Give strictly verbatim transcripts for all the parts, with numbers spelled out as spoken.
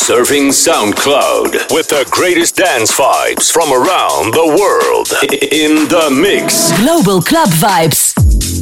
Surfing SoundCloud with the greatest dance vibes from around the world. In the mix. Global Club Vibes.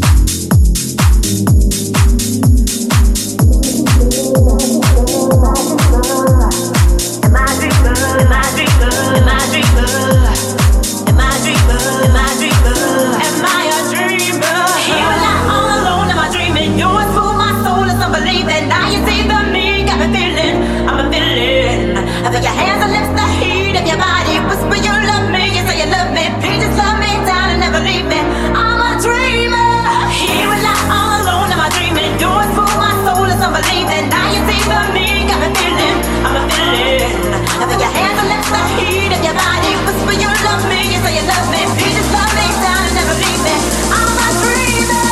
Your hands and lips, the heat of your body. Whisper you love me, you say you love me. Please just love me down and never leave me. I'm a dreamer. Here and now, all alone, am I dreaming? Yours for my soul is unbelieving. Now you see for me, got me feeling, I'm a feeling. I feel your hands and lips, the heat of your body. Whisper you love me, you say you love me. Please just love me down and never leave me. I'm a dreamer.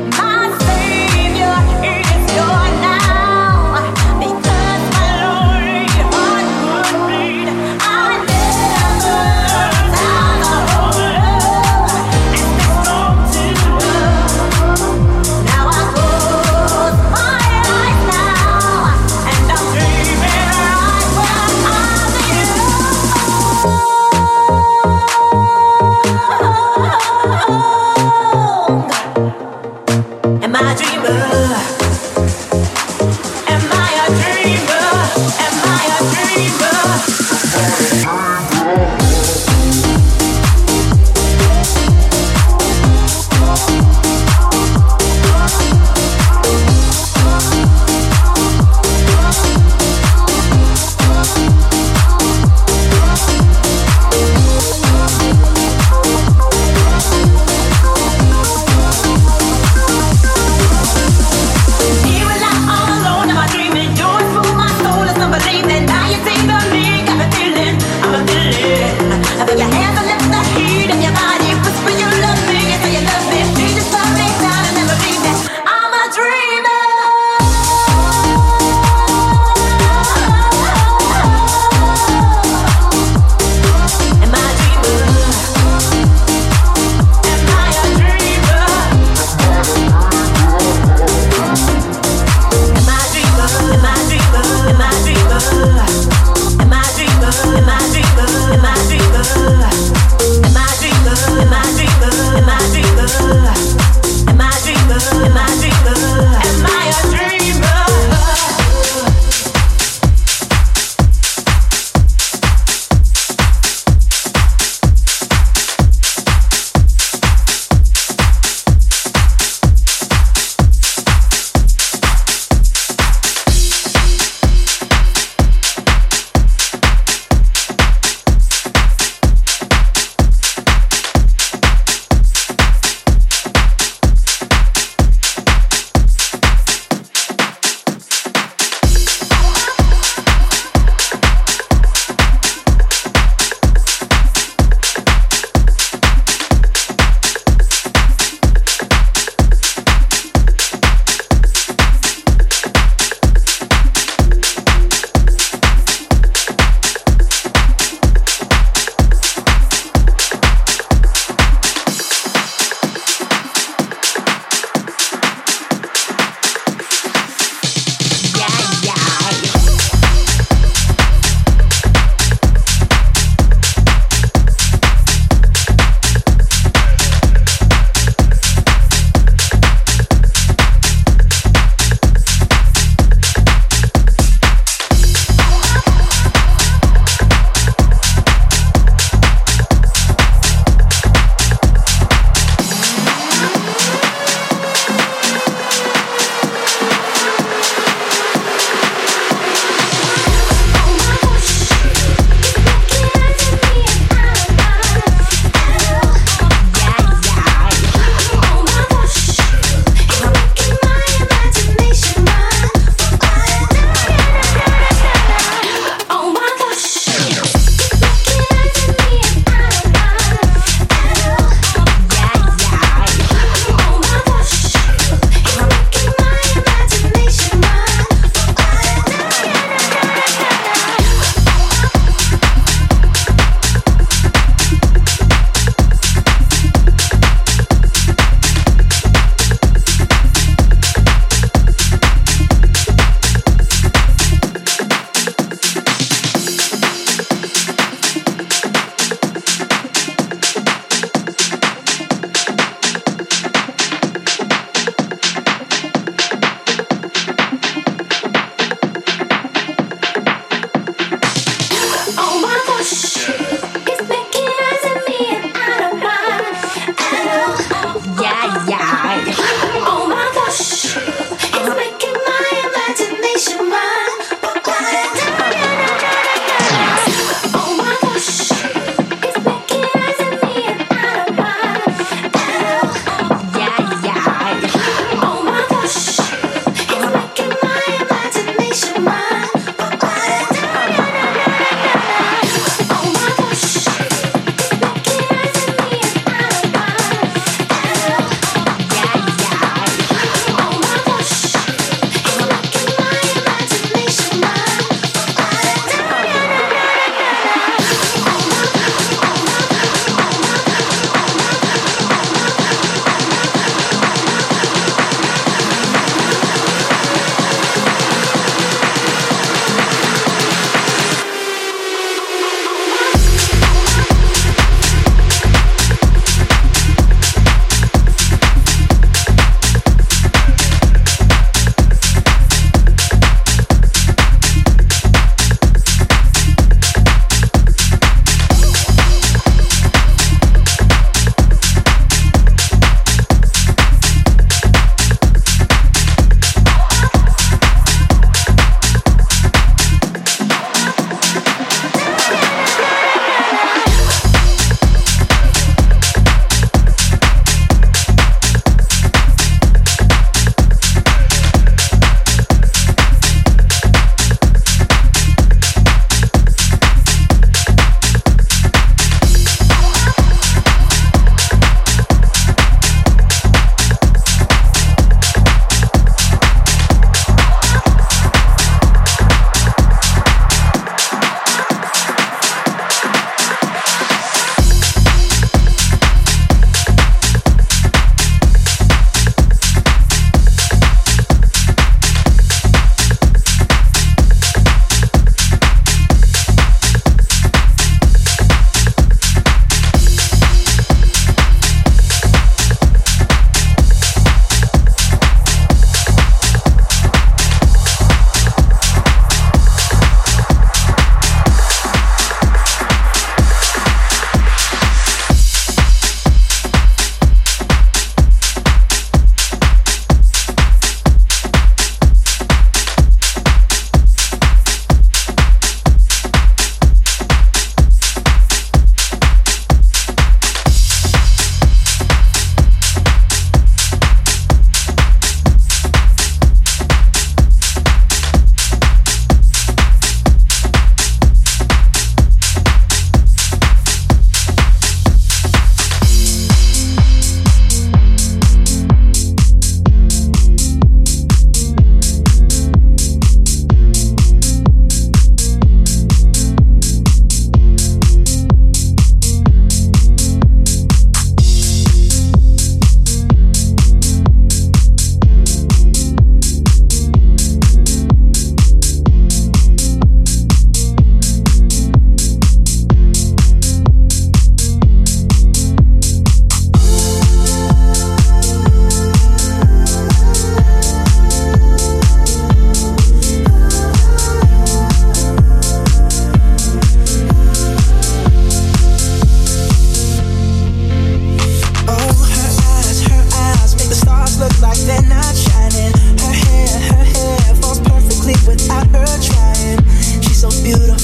Your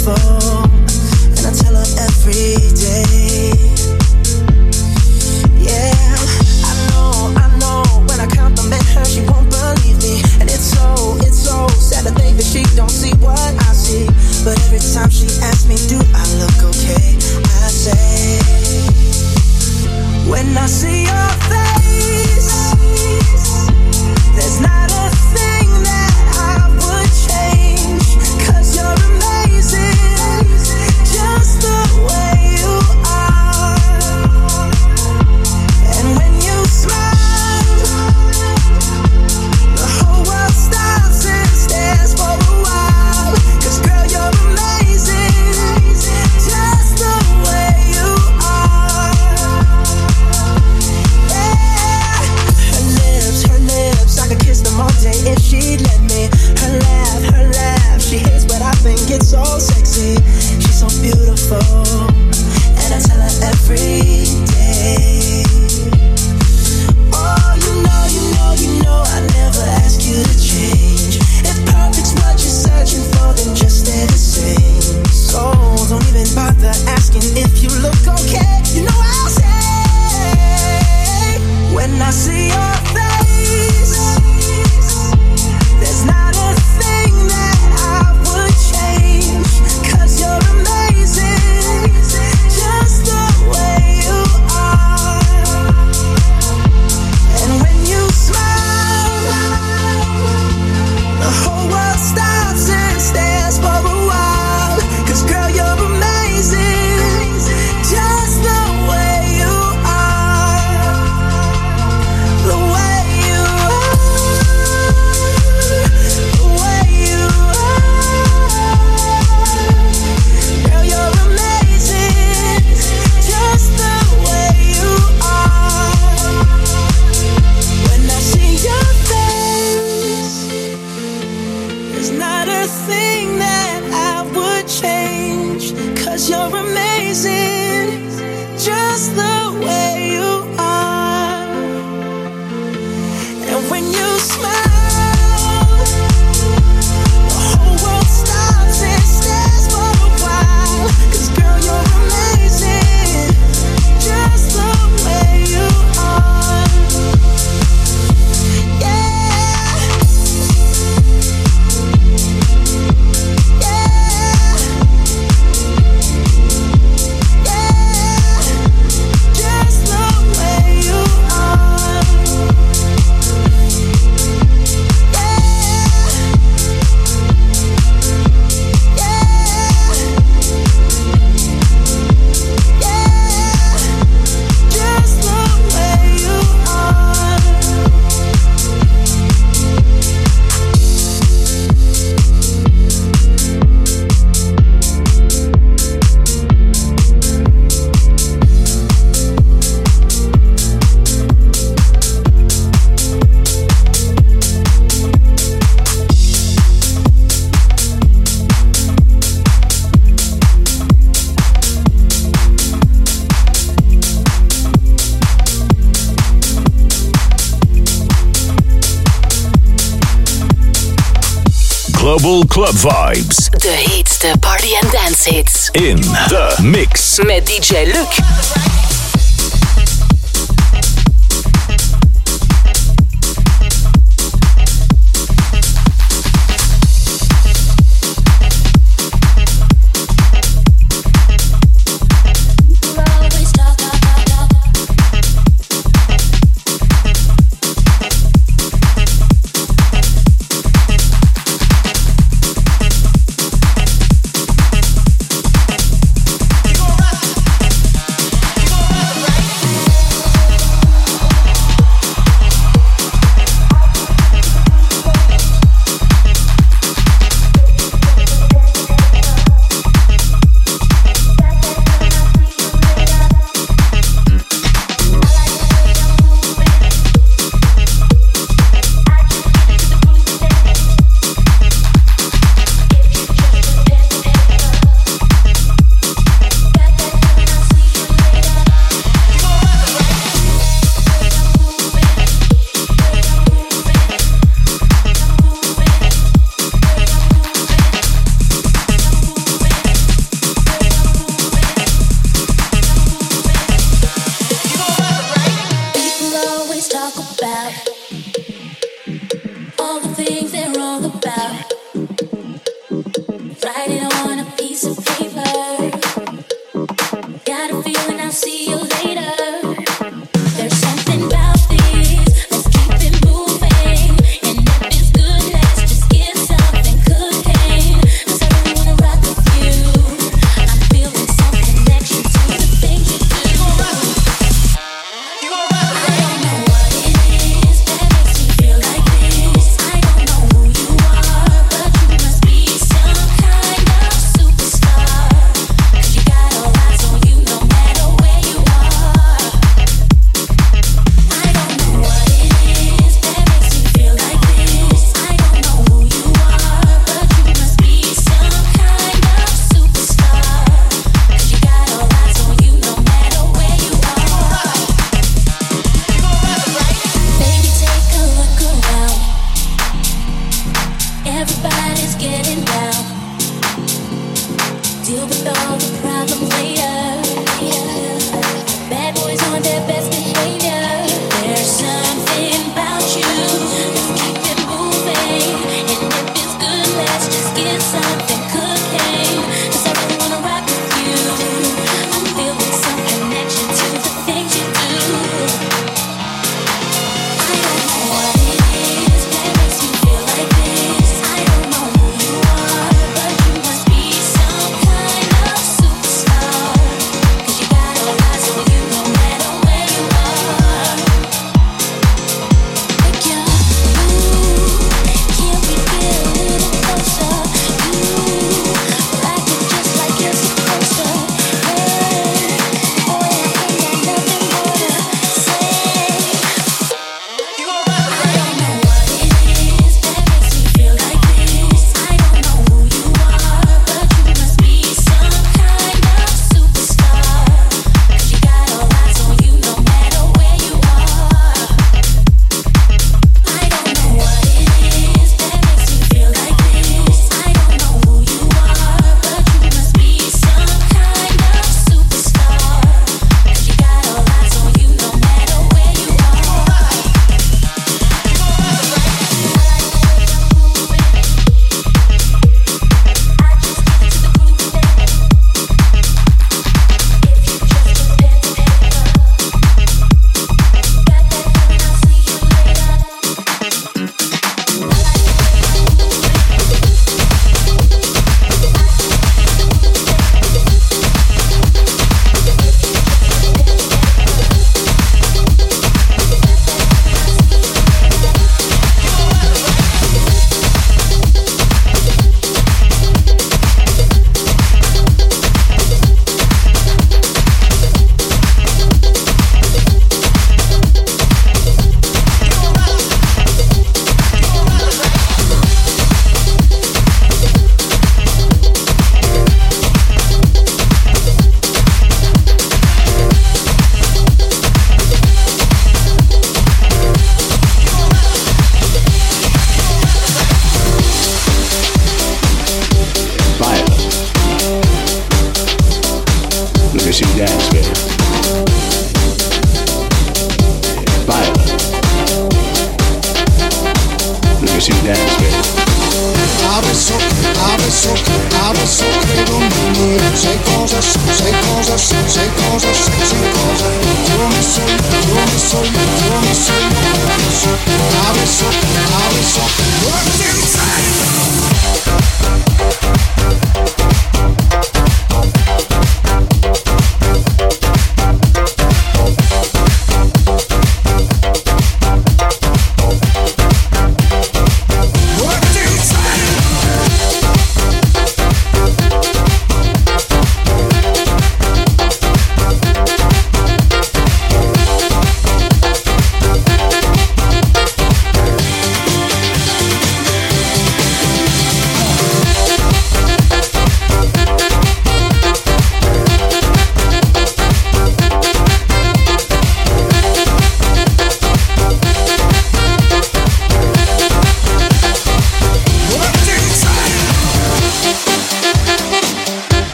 beautiful, and I tell her every day. Yeah, I know, I know, when I compliment her, she won't believe me. And it's so, it's so sad to think that she don't see what I see. But every time she asks me, do I look okay? I say, when I see your face, there's not a thing that I would change. 'Cause you're amazing, just the way you are. And when you smile, the whole world stops and stares for a while. 'Cause girl, you're amazing, just the way you are. Yeah. Her lips, her lips, I could kiss them all day if she'd let me. Her laugh, her laugh, she hates but I think it's so sexy. She's so beautiful, and I tell her every day. Oh, you know, you know, you know I never ask you to change. If perfect's what you're searching for, then just stay the same. So don't even bother asking if you look okay. You know I'll say, when I see your face, there's not a thing that I would change. 'Cause you're amazing, just the way you are. And when you smile, the whole world stops and stares for a while. 'Cause girl, you're amazing, just the way you are. The way you are, the way you are. Girl, you're amazing, just the way you are. When I see your face, there's not a thing that I would change. 'Cause you're amazing, just the way you are. And when you smile, the whole world stops and stares for a while. 'Cause girl, you're amazing, just the way you are. Yeah. Yeah. Yeah. Just the way you are. Global Club Vibes. De heetste party en dance hits. In The Mix. Met D J Luc. Keep on rocking.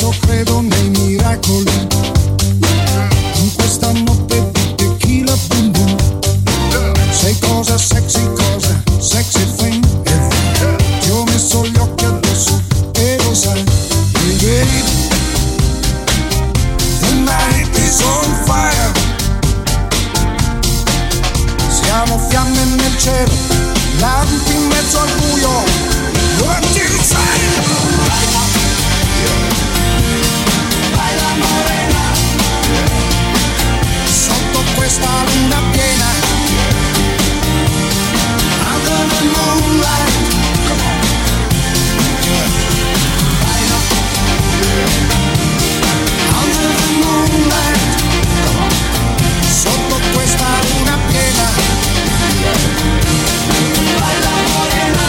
adesso credo nei miracoli. In questa notte di tequila boom boom. Sei cosa sexy, cosa sexy thing. Ti ho messo gli occhi addosso e lo sai. Baby, the night is on fire. Siamo fiamme nel cielo, lampi in mezzo al buio. What do you say? Baila morena, sotto questa luna piena. Under the moonlight, come on. Baila. Under the moonlight, come on. Sotto questa luna piena. Baila morena.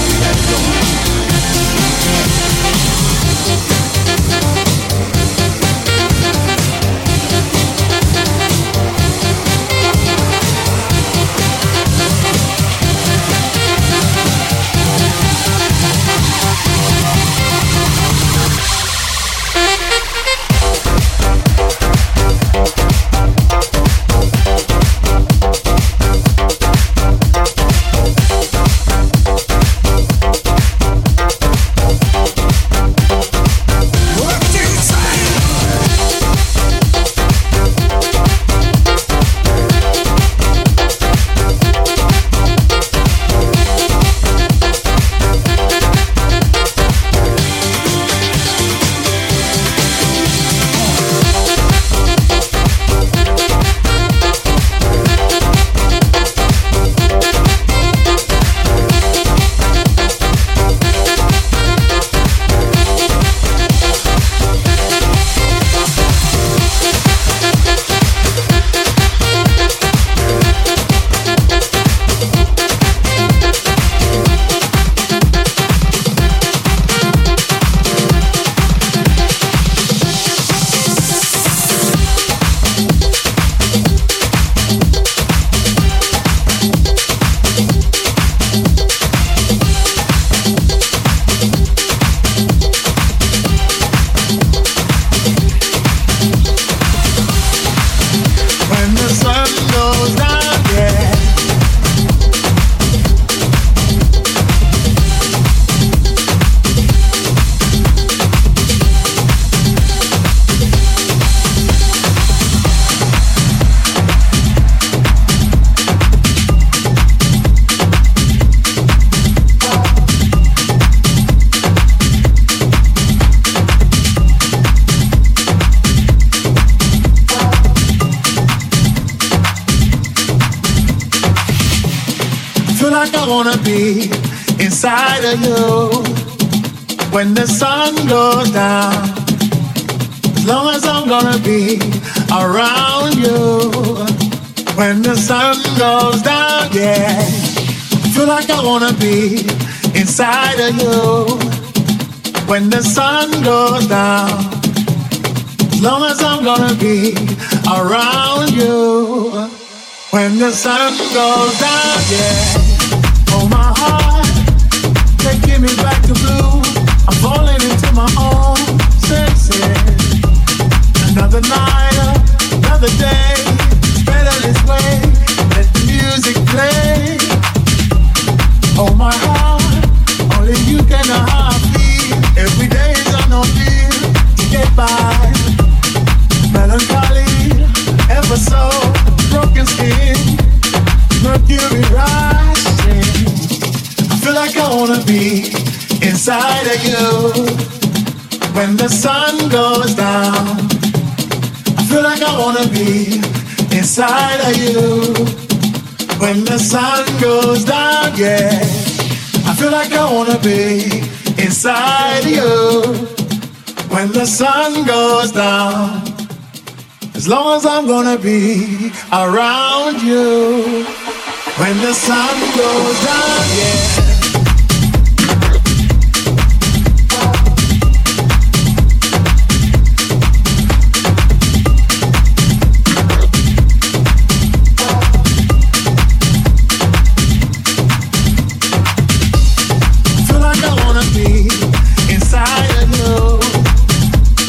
wanna be inside of you when the sun goes down. As long as I'm gonna be around you when the sun goes down, yeah. I feel like I wanna be inside of you when the sun goes down. As long as I'm gonna be around you when the sun goes down, yeah. Oh, my heart, taking me back to blue. I'm falling into my own senses. Another night, another day, it's better this way. Let the music play. Oh, my heart, only you can know how I feel. Every day is on no deal to get by. Melancholy, ever so broken skin, mercury rising. I feel like I wanna be inside of you when the sun goes down. I feel like I wanna be inside of you when the sun goes down, yeah. I feel like I wanna be inside of you when the sun goes down. As long as I'm gonna be around you when the sun goes down, yeah. I feel like I wanna be inside of you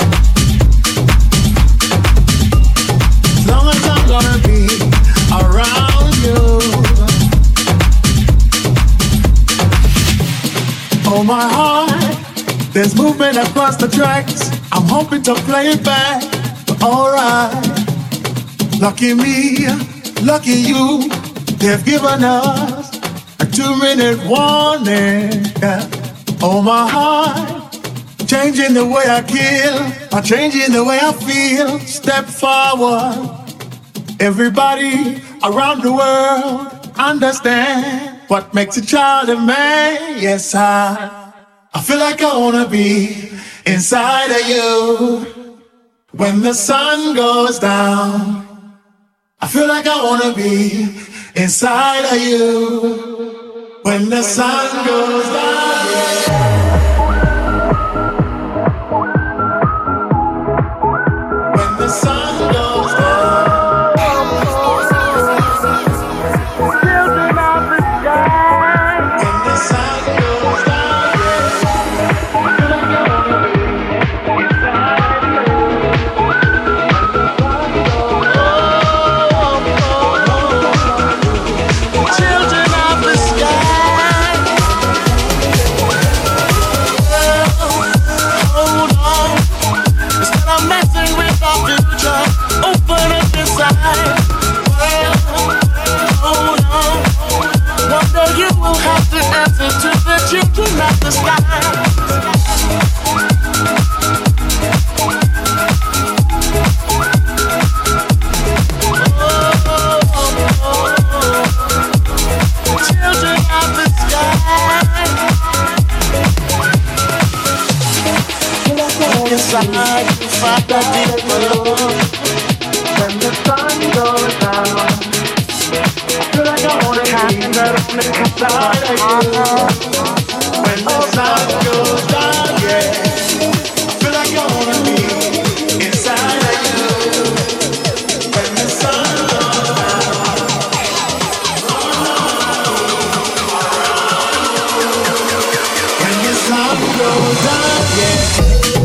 Oh my heart, there's movement across the tracks. I'm hoping to play it back, but alright. Lucky me, lucky you, they've given us a two-minute warning. Yeah. Oh my heart, changing the way I kill, I'm changing the way I feel. Step forward, everybody around the world understand what makes a child a man. Yes, I, I feel like I wanna be inside of you when the sun goes down. I feel like I wanna be inside of you when the sun goes down. When the sun goes down. Children of the sky. When the sun goes down. I feel like I wanna be inside of you when the sun goes down. Children of the sky. Hold on. Instead of messing with our future, open up inside. Hold on. One day you will have to answer to the children of the sky. Children of the sky. Inside you find a deeper love. When the sun goes down, feel like I wanna be inside of you. When the sun goes down, yeah, I feel like I wanna be inside of you. When the sun goes down. When the sun goes down, yeah.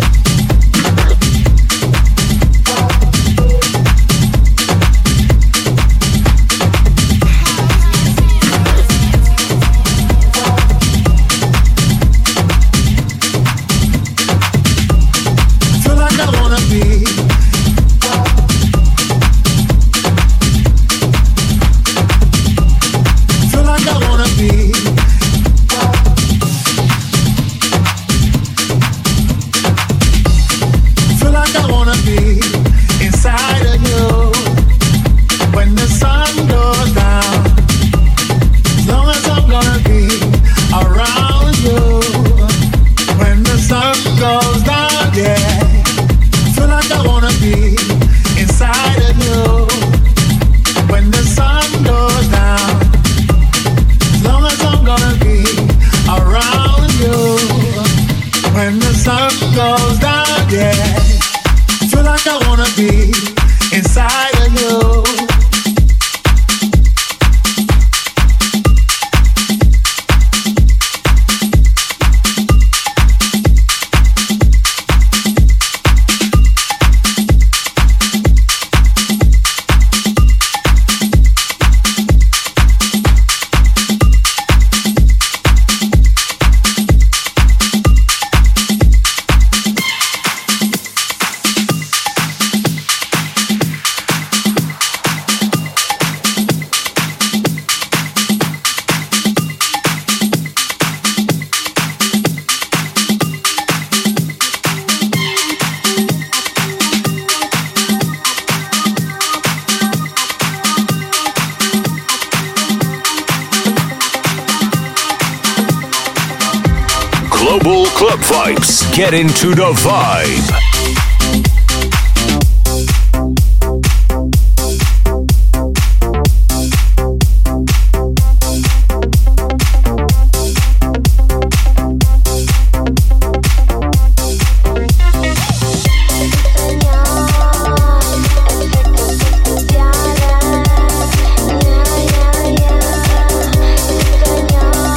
Global Club Vibes. Get into the vibe.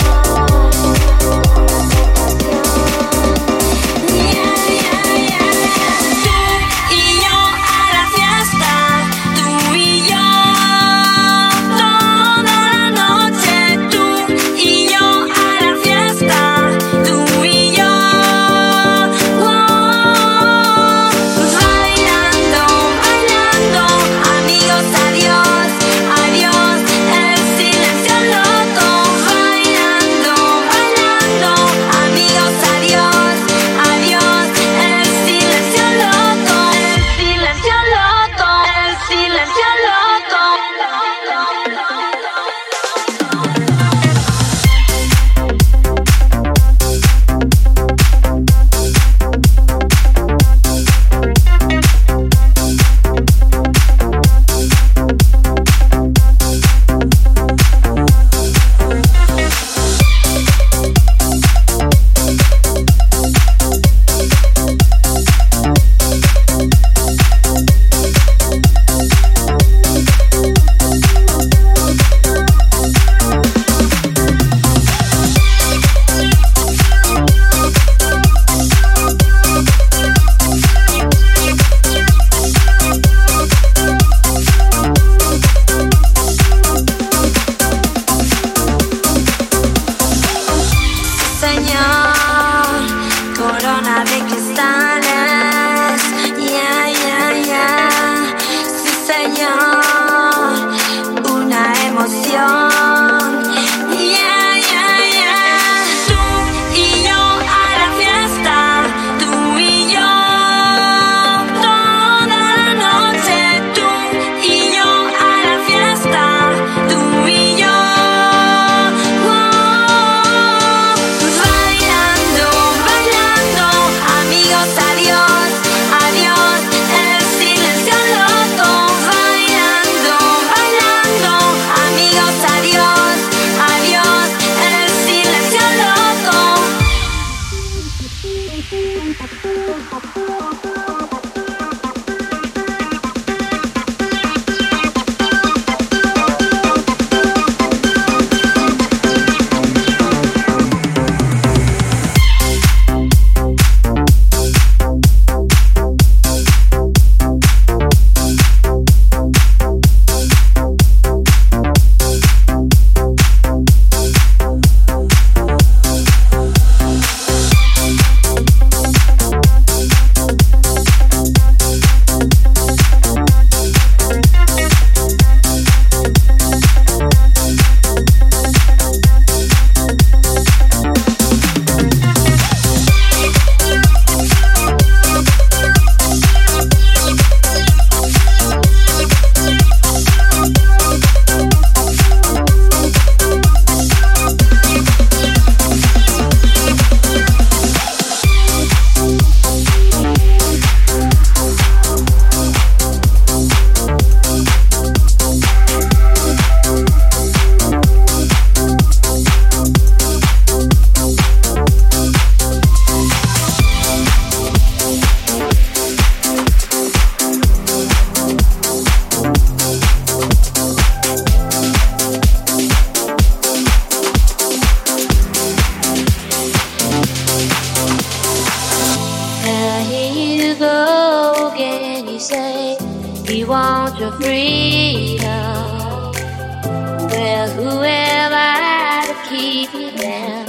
Yeah, yeah, yeah. say you want your freedom. Well, whoever had to keep you down.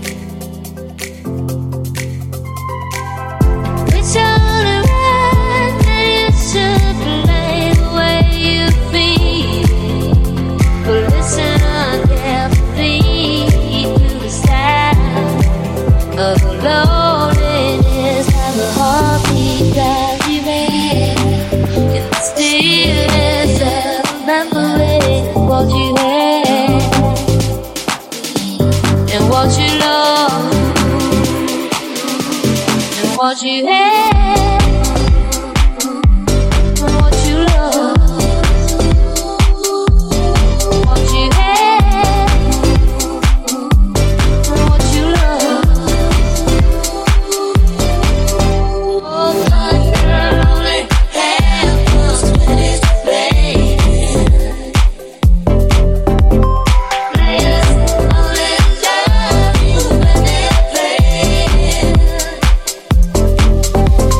It's only right that you should play the way you feel. But listen carefully to the sound of the loneliness, how the heartbeat drives you mad. In the stillness of remembering what you had and what you love and what you had and what you love, what you had and what you love. Oh, my girl only had those twenties to play. Players only love you when they play.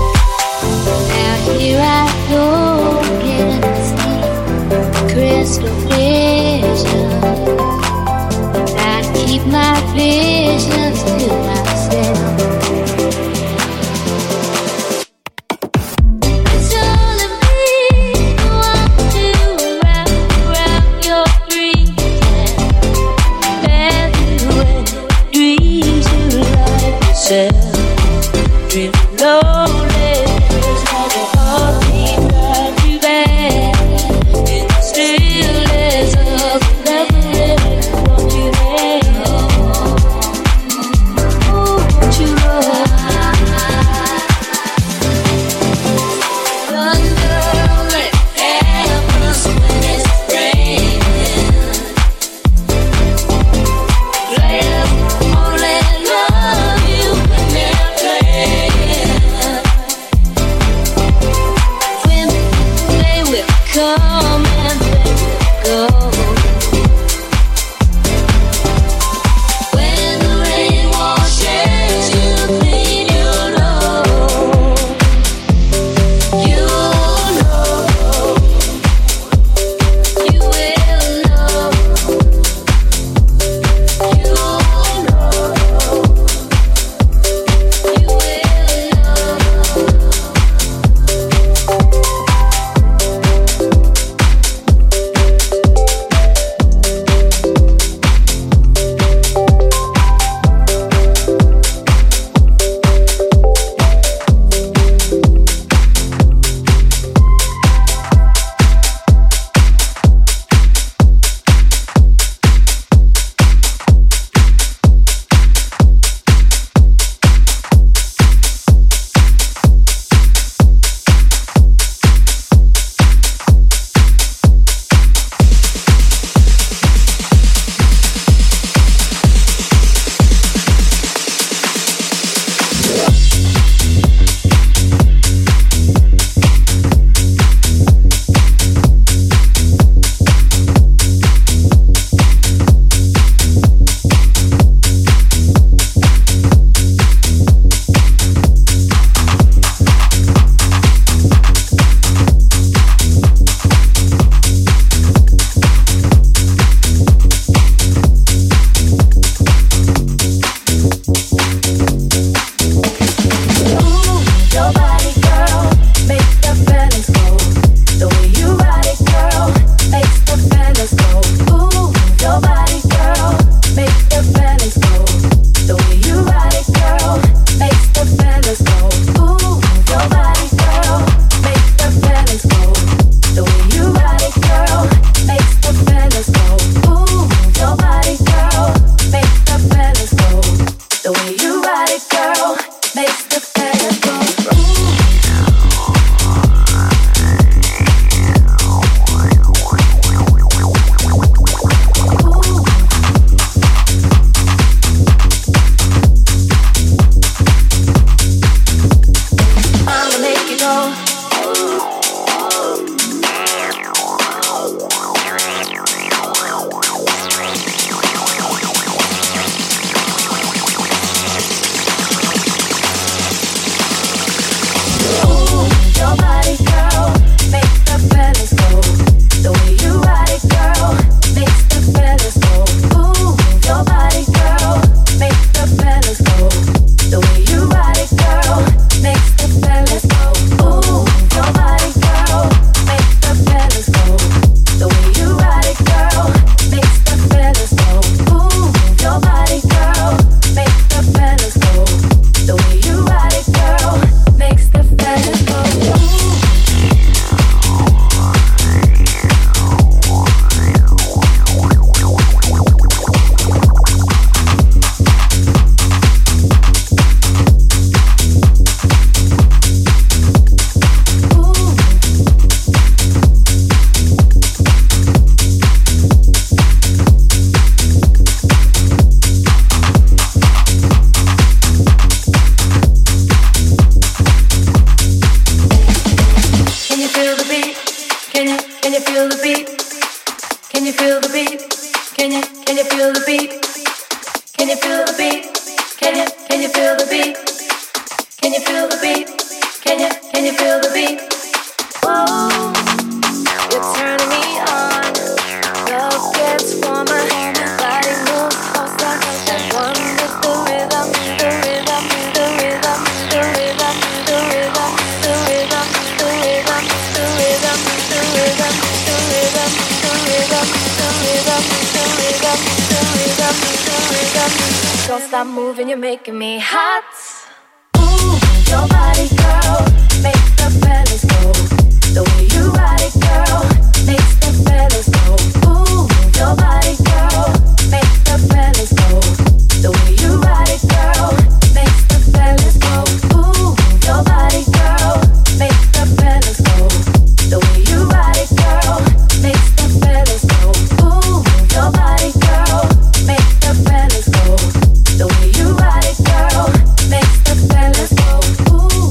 feel the beat? Can you can you feel the beat? Can you feel the beat? Can you can you feel the beat? Can you feel the beat? Can you can you feel the beat? Can you feel the beat? Can you can you feel the beat? Whoa, you're turning me on. Love gets warmer, body moves closer. One with the rhythm, the rhythm, the rhythm, the rhythm, the rhythm, the rhythm, the rhythm, the rhythm, the rhythm, the rhythm, the rhythm, the rhythm, the rhythm, the rhythm, the rhythm. Don't stop moving, you're making me hot. Ooh, your body, girl, makes the fellas go. The way you ride it, girl, makes the fellas go. Ooh, your body, girl, makes the fellas go. The way you ride it, girl, makes the fellas go. Ooh, your body, girl, makes the fellas go. The way you ride it, girl, makes the fellas go. Ooh, your body, girl, makes the fellas go. The way you ride it, girl, makes the fellas go. Ooh.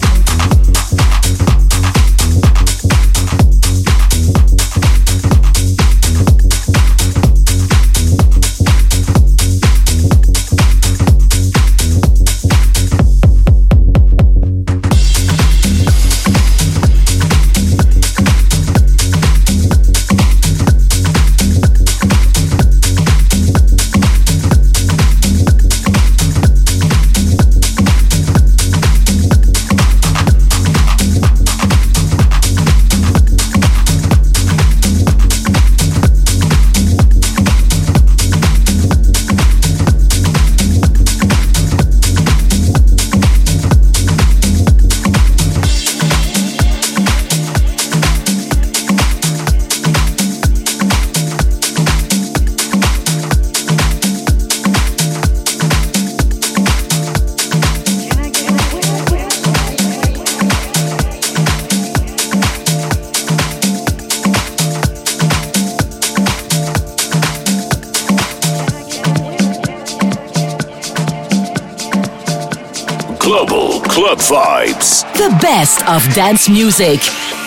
Global Club Vibes. The best of dance music.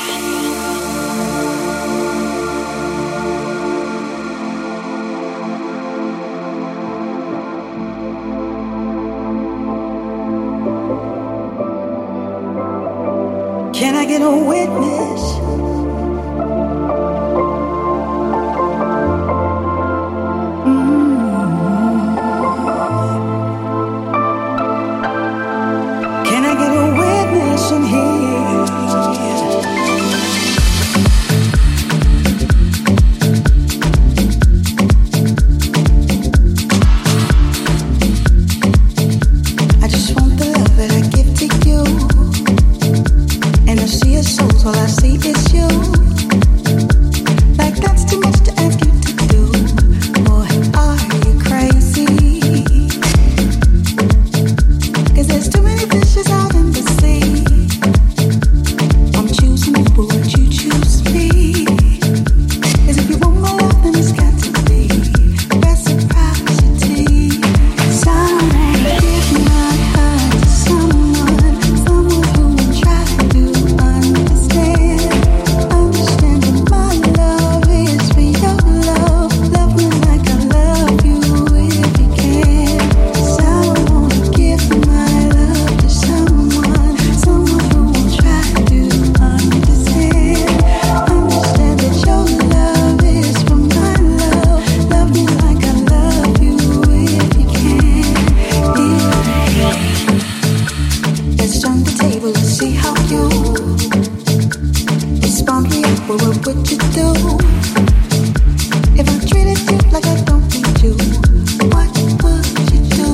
Can I get a witness? Can I get a witness in here? I just want the love that I give to you, and I see your souls, all I see is you. Like that's too much to ask you to do. Boy, are you crazy? 'Cause there's too many fishes out in the sea. I'm choosing you, but would you choose me? 'Cause if you want my love, then it's got to be reciprocity. Someone give my heart to someone, someone who will try to understand. Understanding my love is for your love. Love me like I love you if you can. Someone give my love to someone, someone who will try to understand. Understand that your love is for my love. Love me like I love you if you can. Let's turn the table and see how you respond me up. What would you do if I treated you like I don't need you? What would you do?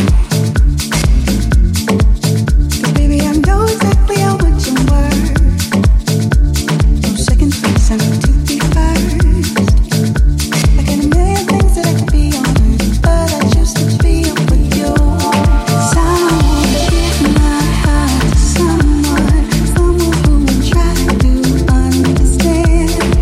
'Cause baby, I know exactly how much you were. No second place, I need to be first. I got a million things that I could be on, but I choose to be up with you. Someone give my heart to someone, someone who will try to understand.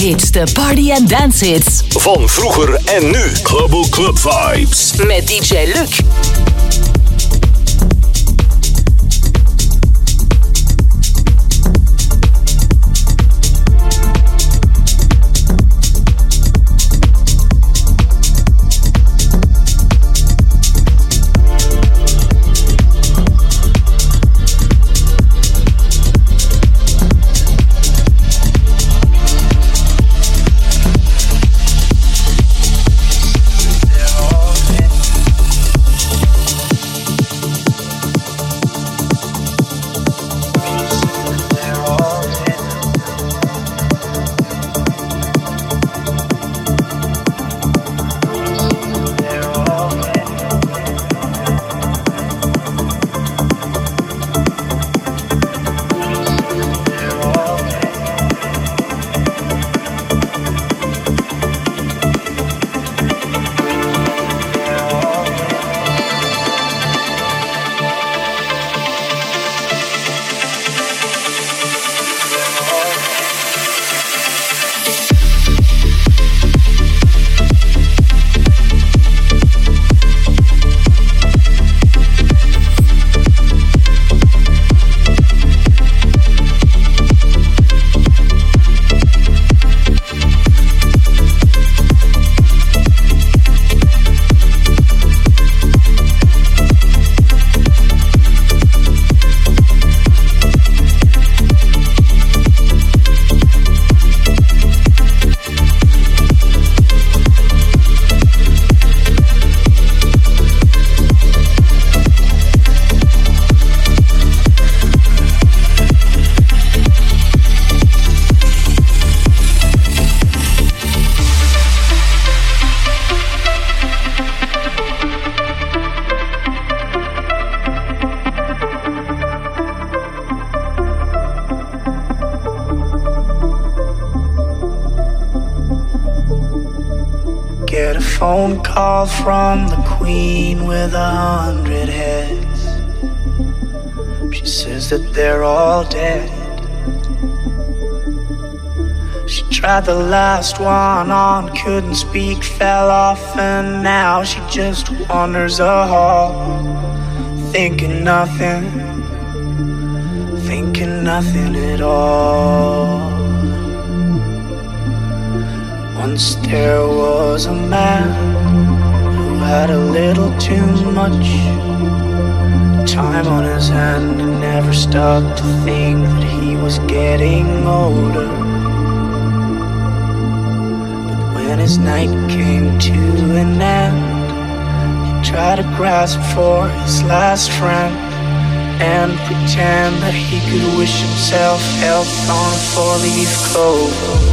hits, de party en dance hits. Van vroeger en nu. Global Club Vibes. Met D J Luc. Phone call from the queen with a hundred heads. She says that they're all dead. She tried the last one on, couldn't speak, fell off, and now she just wanders a hall, thinking nothing, thinking nothing at all. Once there was a man who had a little too much time on his hand and never stopped to think that he was getting older. But when his night came to an end, he tried to grasp for his last friend and pretend that he could wish himself health on a four-leaf clover.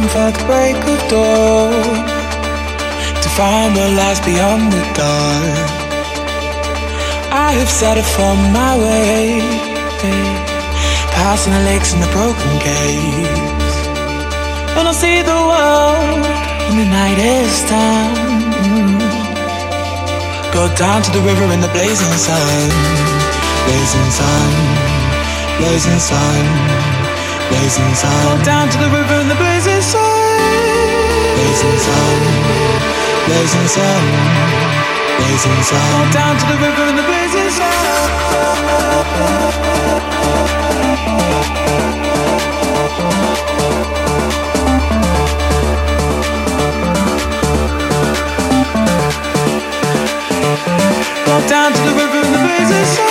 waiting for the break of dawn to find what lies beyond the dark. I have set it for my way, passing the lakes and the broken gates, and I'll see the world when the night is done. Go down to the river in the blazing sun, blazing sun, blazing sun, blazing sun. Go down to the river in the blazing sun, blazing sun, blazing sun, blazing sun. Go down to the river in the blazing sun. Go down to the river in the blazing sun.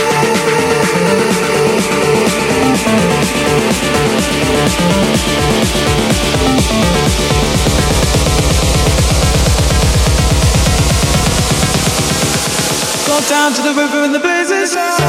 Go down to the river in the blazing sun.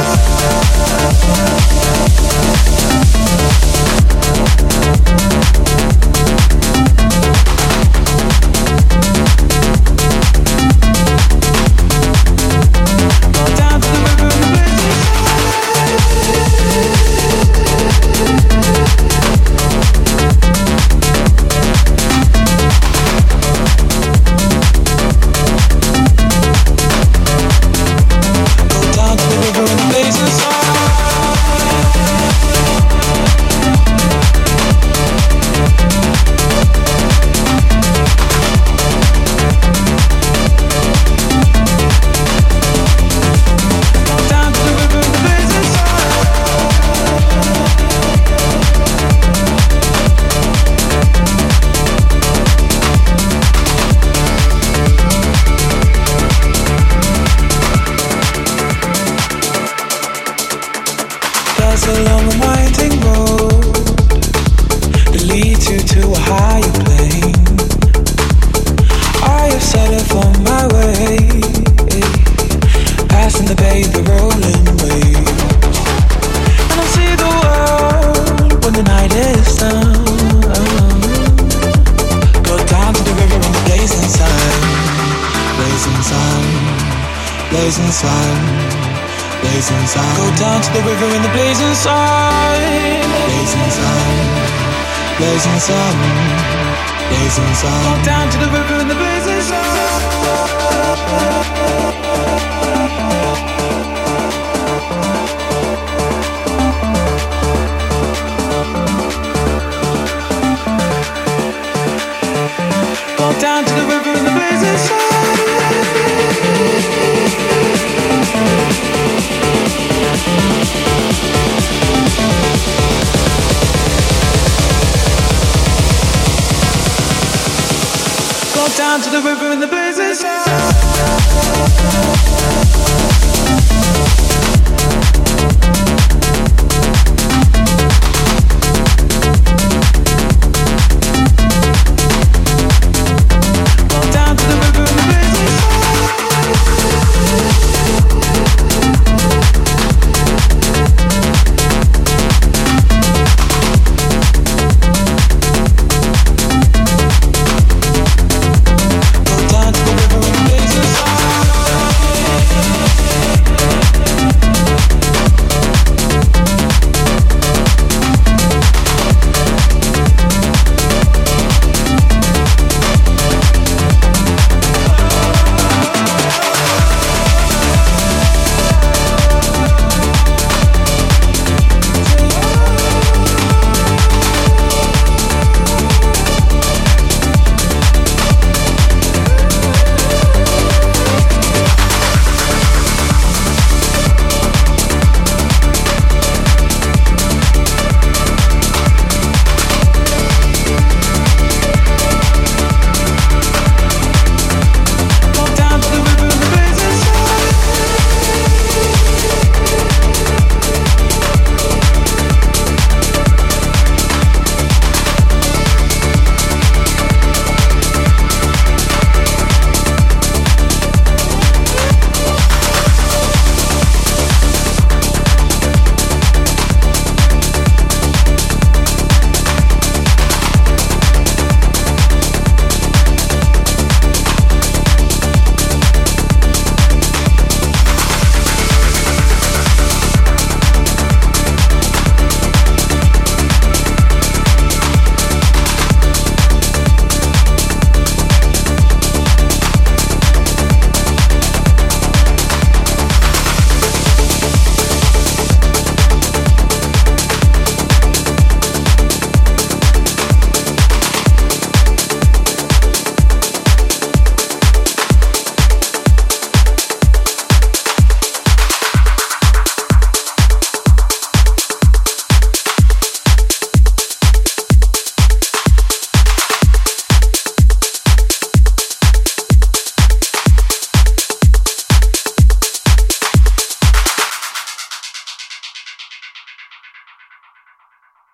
Down to the